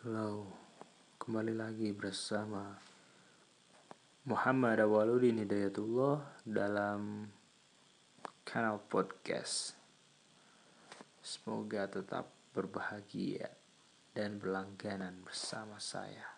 Halo, kembali lagi bersama Muhammad Awaludin Hidayatullah dalam kanal podcast. Semoga tetap berbahagia dan berlangganan bersama saya.